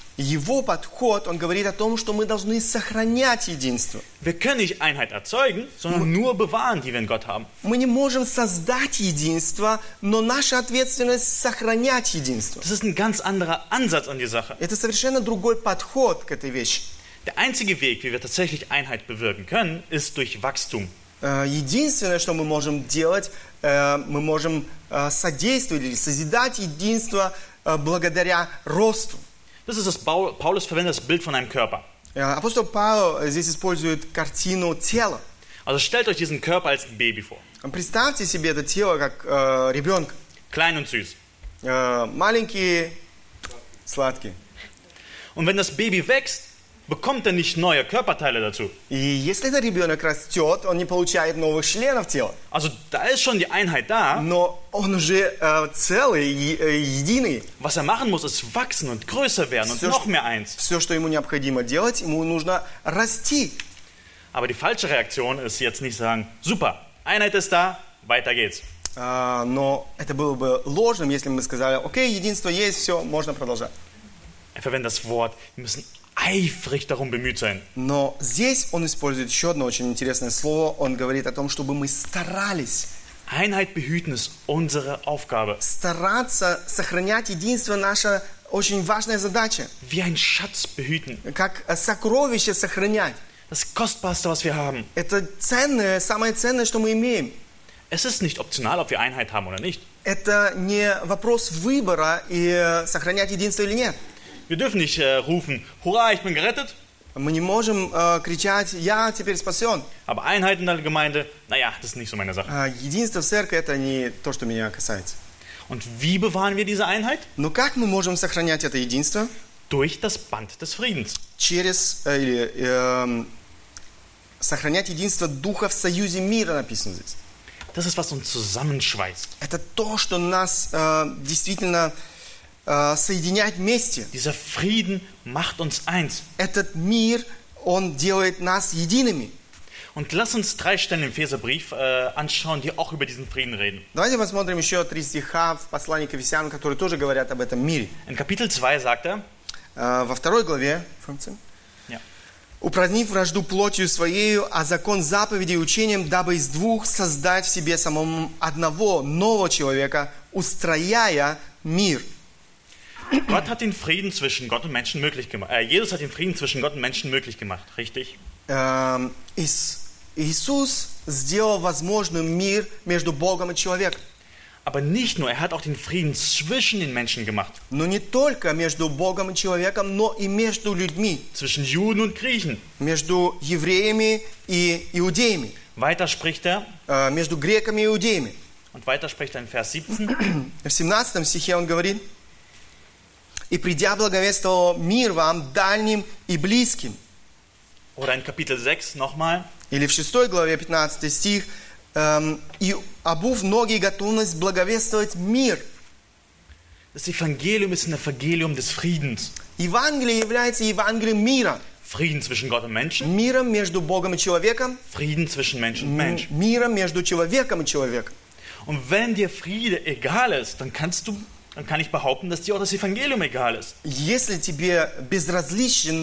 Его подход, он говорит о том, что мы должны сохранять единство. Wir können nicht Einheit erzeugen, sondern nur bewahren, die wir in Gott haben. Мы не можем создать единство, но наша ответственность сохранять единство. Das ist ein ganz anderer Ansatz an die Sache. Это совершенно другой подход к этой вещи. Der einzige Weg, wie wir tatsächlich Einheit bewirken können, ist durch Wachstum. Единственное, что мы можем делать, мы можем содействовать или созидать единство благодаря росту. Das ist das Paulus verwendet das Bild von einem Körper. Апостол Павел здесь использует картину тела. Also stellt euch diesen Körper als ein Baby vor. Представьте себе это тело как ребенка. Klein und süß. Маленький, сладкий. Und wenn das Baby wächst, bekommt er nicht neue Körperteile dazu. И если этот ребенок растет, он не получает новых членов тела. Also da ist schon die Einheit da. Но он уже целый, единый. Was er machen muss, ist wachsen und größer werden und noch mehr eins. Все, что ему необходимо делать, ему нужно расти. Aber die falsche Reaktion ist jetzt nicht sagen, super, Einheit ist da, weiter geht's. Но это было бы ложным, если бы мы сказали, окей, единство есть, все, можно продолжать. Er verwendet das Wort, wir müssen eifrig darum bemüht sein. Но здесь он использует еще одно очень интересное слово. Он говорит о том, чтобы мы старались. Einheit behüten ist unsere Aufgabe. Стараться сохранять единство – наша очень важная задача. Wie ein Schatz behüten. Как сокровище сохранять. Das Kostbarste, was wir haben. Это ценное, самое ценное, что мы имеем. Es ist nicht optional, ob wir Einheit haben oder nicht. Это не вопрос выбора, и сохранять единство или нет. Wir dürfen nicht rufen, hurra, ich bin gerettet. Мы не можем кричать, я теперь спасен. Aber Einheit in der Gemeinde, naja, das ist nicht so meine Sache. Единство в церкви – это не то, что меня касается. Und wie bewahren wir diese Einheit? Но как мы можем сохранять это единство? Durch das Band des Friedens. Через, сохранять единство Духа в союзе мира, написано здесь. Das ist, was uns zusammenschweißt. Это то, что нас действительно соединяет вместе. Dieser Frieden macht uns eins. Этот мир, он делает нас едиными. Und lass uns 3 Stellen im Epheserbrief anschauen, die auch über diesen Frieden reden. Давайте посмотрим еще 3 стиха в послании к Ефесянам, которые тоже говорят об этом мире. In Kapitel 2 sagt er, Во 2 главе, «Упразднив вражду плотью своею, а закон заповедей и учением, дабы из двух создать в себе самому одного нового человека, устрояя мир». Gott hat den Frieden zwischen Gott und Menschen möglich gemacht. Jesus hat den Frieden zwischen Gott und Menschen möglich gemacht, richtig? Иисус сделал возможным мир между Богом и человеком. Aber nicht nur, er hat auch den Frieden zwischen den Menschen gemacht. Но не только между Богом и человеком, но и между людьми. Zwischen Juden und Griechen. Между евреями и иудеями. Weiter spricht er. Между греками и иудеями. Und weiter spricht er in Vers 17. В 17 стихе он говорит: «И придя благовествовал мир вам дальним и близким». Oder in Kapitel 6 nochmal. Или в 6 главе 15 стих: «И обув ноги и готовность благовествовать мир». Das Evangelium ist ein Evangelium des Friedens. Евангелие является Евангелием мира. Frieden zwischen Gott und Menschen. Миром между Богом и человеком. Frieden zwischen Mensch und Mensch. Миром между человеком и человеком. Und wenn dir Friede egal ist, dann kann ich behaupten, dass dir auch das Evangelium egal ist. Если тебе безразлично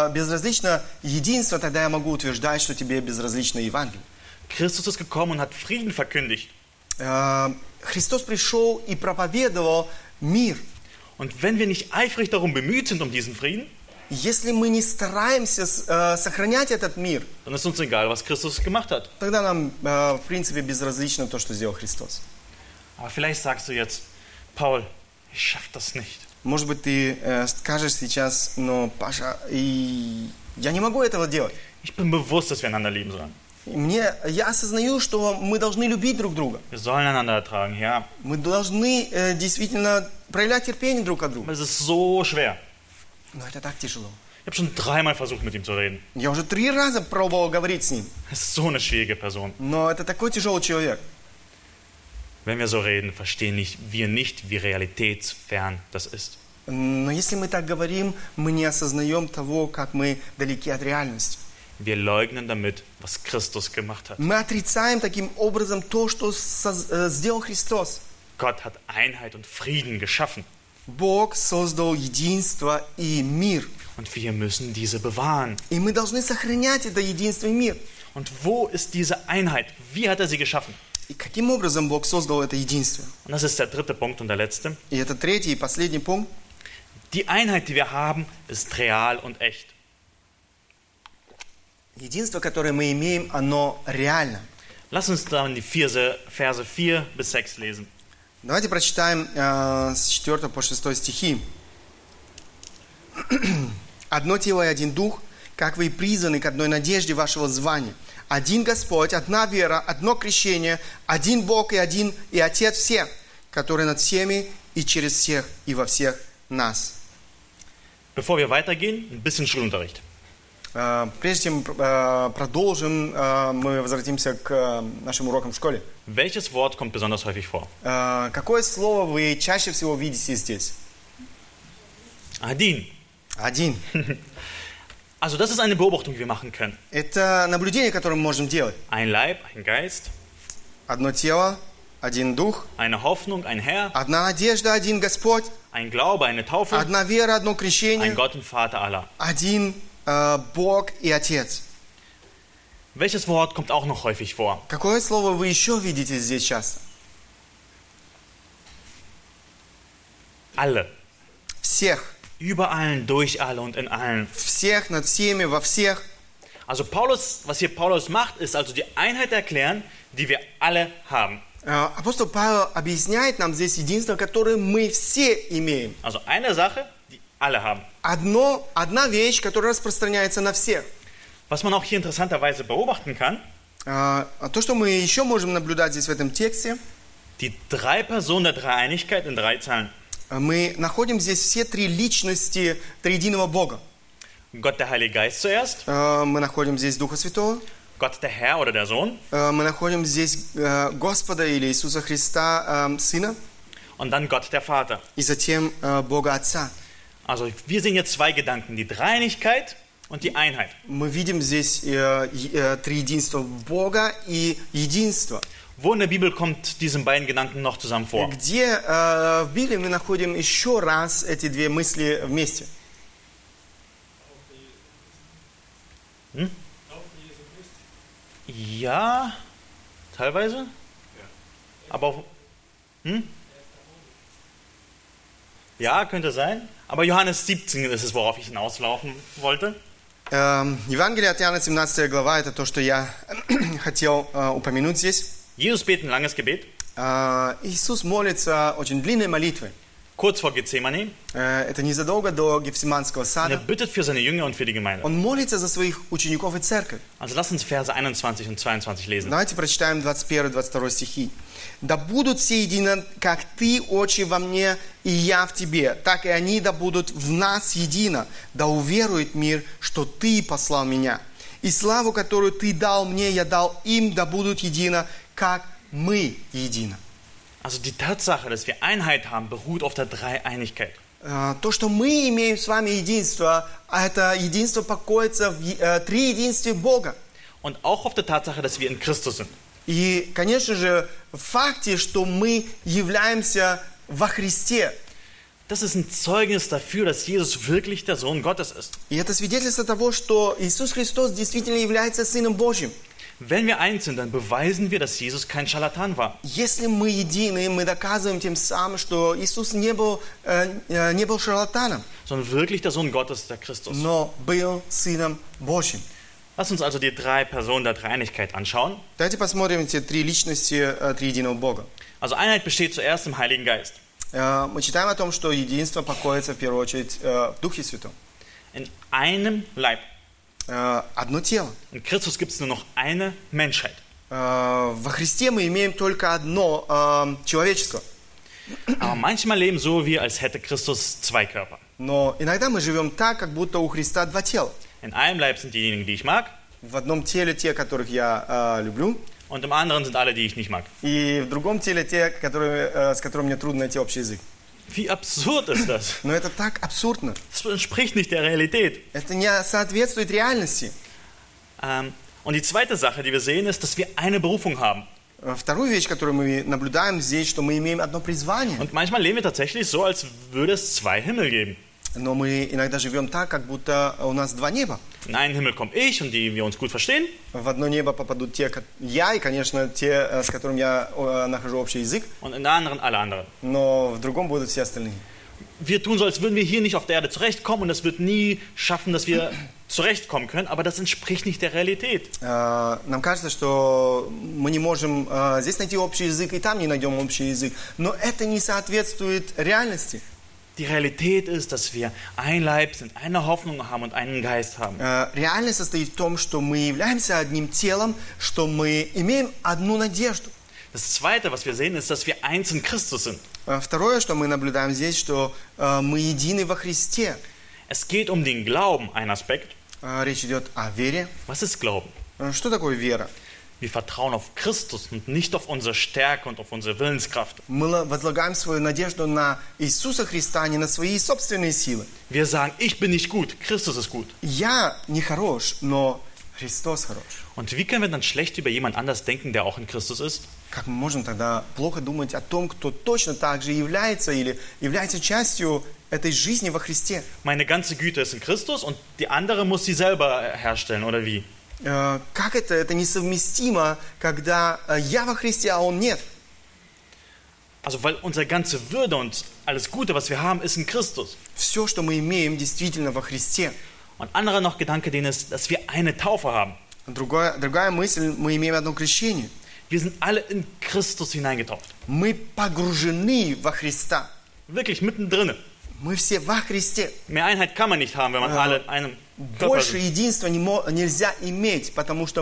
единство, тогда я могу утверждать, что тебе безразлично Евангелие. Christus ist gekommen und hat Frieden verkündigt. Христос пришел и проповедовал мир. Und wenn wir nicht eifrig darum bemüht sind, um diesen Frieden, если мы не стараемся сохранять этот мир, dann ist uns egal, was Christus gemacht hat. тогда нам, в принципе, безразлично то, что сделал Христос. Aber vielleicht sagst du jetzt, Paul, ich schaffe das nicht. Может быть, ты скажешь сейчас, но, Паша, я не могу этого делать. Ich bin bewusst, dass wir einander lieben sollen. Я осознаю, что мы должны любить друг друга. Wir sollen einander ertragen, ja. Мы должны действительно проявлять терпение друг от друга. Aber es ist so schwer. Но это так тяжело. Ich habe schon 3-mal versucht, mit ihm zu reden. Я уже 3 раза пробовал говорить с ним. Es ist so eine schwierige Person. Но это такой тяжелый человек. Wenn wir so reden, verstehen wir nicht, wie realitätsfern das ist. Но если мы так говорим, мы не осознаем того, как мы далеки от реальности. Wir leugnen damit, was Christus gemacht hat. Мы отрицаем таким образом то, что сделал Христос. Gott hat Einheit und Frieden geschaffen. Бог создал единство и мир. Und wir müssen diese bewahren. И мы должны сохранять это единство и мир. Und wo ist diese Einheit? Wie hat er sie geschaffen? И каким образом Бог создал это единство? Und das ist der dritte Punkt und der letzte. И это третий и последний пункт. Die Einheit, die wir haben, ist real und echt. Единство, которое мы имеем, оно реально. Lass uns dann die Verse 4 bis 6 lesen. Давайте прочитаем с 4 по 6 стихи. «Одно тело и один дух, как вы и призваны к одной надежде вашего звания. Один Господь, одна вера, одно крещение, один Бог и один и Отец всех, который над всеми и через всех и во всех нас». Bevor wir weitergehen, ein bisschen Schulunterricht. Прежде чем продолжим, мы возвратимся к нашим урокам в школе. Welches Wort kommt besonders häufig vor? Какое слово вы чаще всего видите здесь? Adin. Один. Also das ist eine Beobachtung, die wir machen können. Это наблюдение, которое мы можем делать. Ein Leib, ein Geist, Одно тело, один дух, eine Hoffnung, ein Herr, одна надежда, один Господь, ein Glaube, eine Taufe, одна вера, одно крещение, ein Gott und Vater aller. один Бог и Отец. Welches Wort kommt auch noch häufig vor? Какое слово вы еще видите здесь часто? Alle. Всех. Über allen, durch alle und in allen. Всех, над всеми, во всех. Also was hier Paulus macht, ist also die Einheit erklären, die wir alle haben. Апостол Павел объясняет нам здесь единство, которое мы все имеем. Also eine Sache, die alle haben. Одна вещь, которая распространяется на всех. Was man auch hier interessanterweise beobachten kann, То, что мы еще можем наблюдать здесь в этом тексте, die drei Personen der Dreieinigkeit in 3 Zeilen. мы находим здесь все три личности триединого Бога. Gott, der Heilige Geist zuerst, Мы находим здесь Духа Святого, Gott, der Herr oder der Sohn мы находим здесь Господа или Иисуса Христа, Сына, und dann Gott, der Vater. и затем Бога Отца. Also wir sehen jetzt 2 Gedanken, die Dreieinigkeit und die Einheit. Мы видим здесь триединство Бога и единство. Wo in der Bibel kommt diesen beiden Gedanken noch zusammen vor? Где в Библии мы находим еще раз эти две мысли вместе? Ja, teilweise. Aber auch, ja, könnte sein. Aber Johannes 17 ist es, worauf ich hinauslaufen wollte. Евангелие от Иоанна, 17 глава, это то, что я хотел упомянуть здесь. Jesus betet ein langes Gebet, Иисус молится очень длинной молитвой. kurz vor Gethsemane. Это незадолго до Гефсиманского Und er сада. bittet für seine Jünger und für die Gemeinde. Он молится за своих учеников и церковь. Also lass uns Verse 21 und 22 lesen. Давайте прочитаем 21-22 стихи. «Да будут все едино, как Ты, Отче, во мне, и я в Тебе, так и они да будут в нас едино, да уверует мир, что Ты послал меня. И славу, которую Ты дал мне, я дал им, да будут едино, как мы едино». Also die Tatsache, dass wir Einheit haben, beruht auf der Dreieinigkeit. То, что мы имеем с вами единство, это единство покоится в триединстве Бога. Und auch auf der Tatsache, dass wir in Christus sind. И, конечно же, в факте, что мы являемся во Христе. Das ist ein Zeugnis dafür, dass Jesus wirklich der Sohn Gottes ist. И это свидетельство того, что Иисус Христос действительно является Сыном Божьим. Wenn wir eins sind, dann beweisen wir, dass Jesus kein Scharlatan war. Если мы едины, мы доказываем тем самым, что Иисус не был шарлатаном, Sondern wirklich der Sohn Gottes, der Christus. но был Сыном Божьим. Lass uns also die 3 Personen der Dreieinigkeit anschauen. Давайте посмотрим эти три личности триединого Бога. Also Einheit besteht zuerst im Heiligen Geist. Мы читаем о том, что единство покоится в первую очередь в Духе Святом. In einem Leib. Одно тело. In Christus gibt es nur noch eine Menschheit. Во Христе мы имеем только одно человечество. Aber manchmal leben so wir, als hätte Christus 2 Körper. Но иногда мы живем так, как будто у Христа два тела. In einem Leib sind diejenigen, die ich mag, В одном теле те, которых я люблю, und im anderen sind alle, die ich nicht mag. и в другом теле те, с которыми мне трудно найти общий язык. Wie absurd ist das? Но это так абсурдно. Das entspricht nicht der Realität. Это не соответствует реальности. Und die zweite Sache, die wir sehen, ist, dass wir eine Berufung haben. Вторую вещь, которую мы наблюдаем здесь, что мы имеем одно призвание. Und manchmal leben wir tatsächlich so, als würde es zwei Himmel geben. Но мы иногда живем так, как будто у нас два неба. In einen Himmel komme ich und die wir uns gut verstehen. В одно небо попадут я и, конечно, те, с которыми я нахожу общий язык. Und in der anderen alle anderen. Но в другом будут все остальные. Wir tun so, als würden wir hier nicht auf der Erde zurechtkommen und es wird nie schaffen, dass wir zurechtkommen können, aber das entspricht nicht der Realität. Нам кажется, что мы не можем здесь найти общий язык и там не найдем общий язык. Но это не соответствует реальности. Die Realität ist, dass wir ein Leib sind, eine Hoffnung haben und einen Geist haben. Реальность состоит в том, что мы являемся одним телом, что мы имеем одну надежду. Das Zweite, was wir sehen, ist, dass wir eins in Christus sind. Второе, что мы наблюдаем здесь, что мы едины во Христе. Es geht um den Glauben, ein Aspekt. Речь идет о вере. Was ist Glauben? Что такое вера? Wir vertrauen auf Christus und nicht auf unsere Stärke und auf unsere Willenskraft. Мы возлагаем свою надежду на Иисуса Христа, а не на свои собственные силы. Wir sagen, ich bin nicht gut, Christus ist gut. Я не хорош, но Христос хорош. Und wie können wir dann schlecht über jemand anders denken, der auch in Christus ist? Как мы можем тогда плохо думать о том, кто точно так же является или является частью этой жизни во Христе? Meine ganze Güte ist in Christus und die andere muss sie selber herstellen, oder wie? Как это? Это несовместимо, когда я во Христе, а он нет. Also weil unsere ganze Würde und alles Gute, was wir haben, ist in Christus. Все, что мы имеем, действительно во Христе. Und anderer noch Gedanke, den ist, dass wir eine Taufe haben. Другая мысль, мы имеем одно крещение. Wir sind alle in Christus hineingetauft. Мы погружены во Христа. Wirklich mittendrin. Мы все во Христе. Mehr Einheit kann man nicht haben, wenn man alle in einem Körper Больше sind. единства нельзя иметь, потому что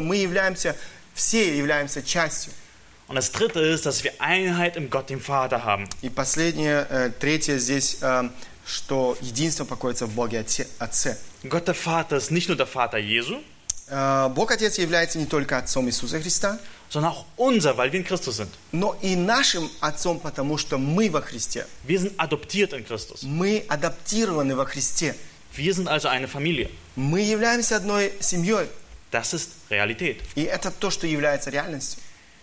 все являемся частью. Und das Dritte ist, dass wir Einheit im Gott, dem Vater haben. И последнее, третье здесь, что единство покоится в Боге Отце. Gott, der Vater, ist nicht nur der Vater Jesu, Бог Отец является не только Отцом Иисуса Христа, sondern auch unser, weil wir in Christus sind. но и нашим Отцом, потому что мы во Христе. Wir sind adoptiert in Christus. Мы адаптированы во Христе. Wir sind also eine Familie. Мы являемся одной семьей. Das ist Realität. И это то, что является реальностью.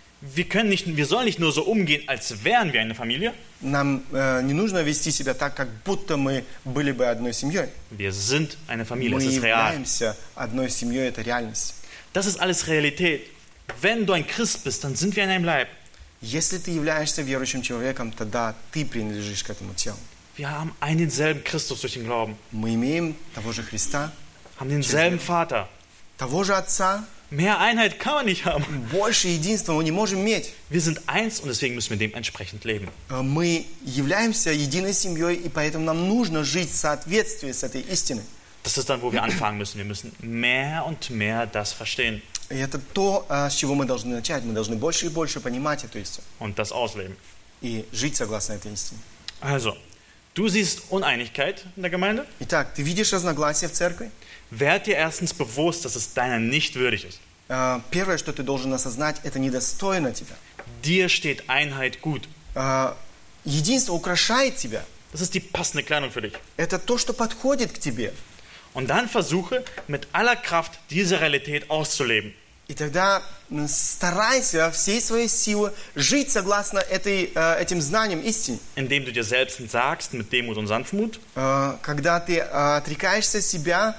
Wir sollen nicht nur so umgehen, als wären wir eine Familie. Нам не нужно вести себя так, как будто мы были бы одной семьей. Wir sind eine Familie, Мы es ist real. являемся одной семьей, это реальность. Das ist alles Realität. Wenn du ein Christ bist, dann sind wir in einem Leib. Если ты являешься верующим человеком, тогда ты принадлежишь к этому телу. Wir haben einen denselben Christus durch den Glauben, Мы имеем того же Христа, haben denselben Vater. того же Отца. Mehr Einheit kann man nicht haben. Больше единства мы не можем иметь. Wir sind eins und deswegen müssen wir dementsprechend leben. Мы являемся единой семьей, и поэтому нам нужно жить в соответствии с этой истиной. Das ist dann, wo wir anfangen müssen. Wir müssen mehr und mehr das verstehen И это то, с чего мы должны начать. Мы должны больше и больше понимать эту истину und das ausleben. и жить согласно этой истине. Also, du siehst Uneinigkeit in der Gemeinde. Итак, ты видишь разногласия в церкви? Werd dir erstens bewusst, dass es deiner nicht würdig ist. Первое, что ты должен осознать, это недостойно тебя. Dir steht Einheit gut. Единство украшает тебя. Das ist die passende Kleidung für dich. Это то, что подходит к тебе. Und dann versuche mit aller Kraft diese Realität auszuleben. И тогда старайся всей своей силой жить согласно этим знаниям истины. Indem du dir selbst entsagst mit Demut und Sanftmut. Когда ты отрекаешься себя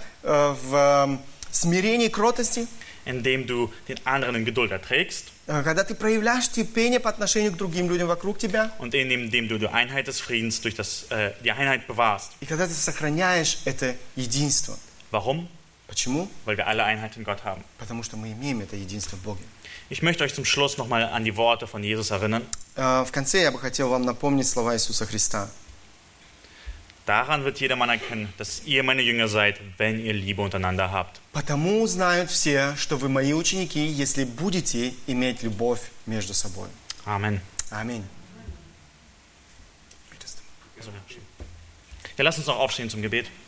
в смирении и кротости. Indem du den anderen in Geduld erträgst. Когда ты проявляешь терпение по отношению к другим людям вокруг тебя. Und indem du die Einheit des Friedens durch die Einheit bewahrst. И когда ты сохраняешь это единство. Warum? Почему? Weil wir alle Einheit in Gott haben. Потому что мы имеем это единство в Боге. Ich möchte euch zum Schluss nochmal an die Worte von Jesus erinnern. В конце я бы хотел вам напомнить слова Иисуса Христа. Daran wird jedermann erkennen, dass ihr meine Jünger seid, wenn ihr Liebe untereinander habt. Потому узнают все, что вы мои ученики, если будете иметь любовь между собой. Amen. Аминь. Ja, lasst uns noch aufstehen zum Gebet.